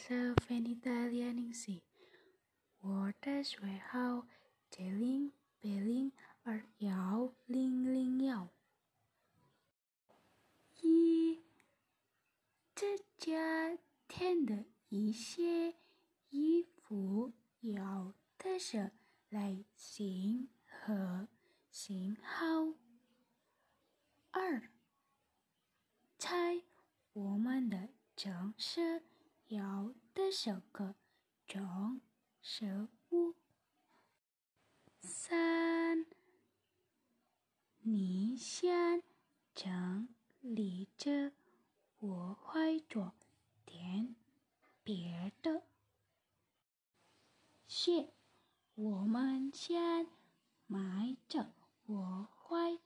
色粉意大利零食，我的嘴号0080201。这家店的一些衣服有的是类型和型号。2. 在我们的城市有的是各种食物。3. 你想整理着，我会做点别的。4. 我们想买着，我会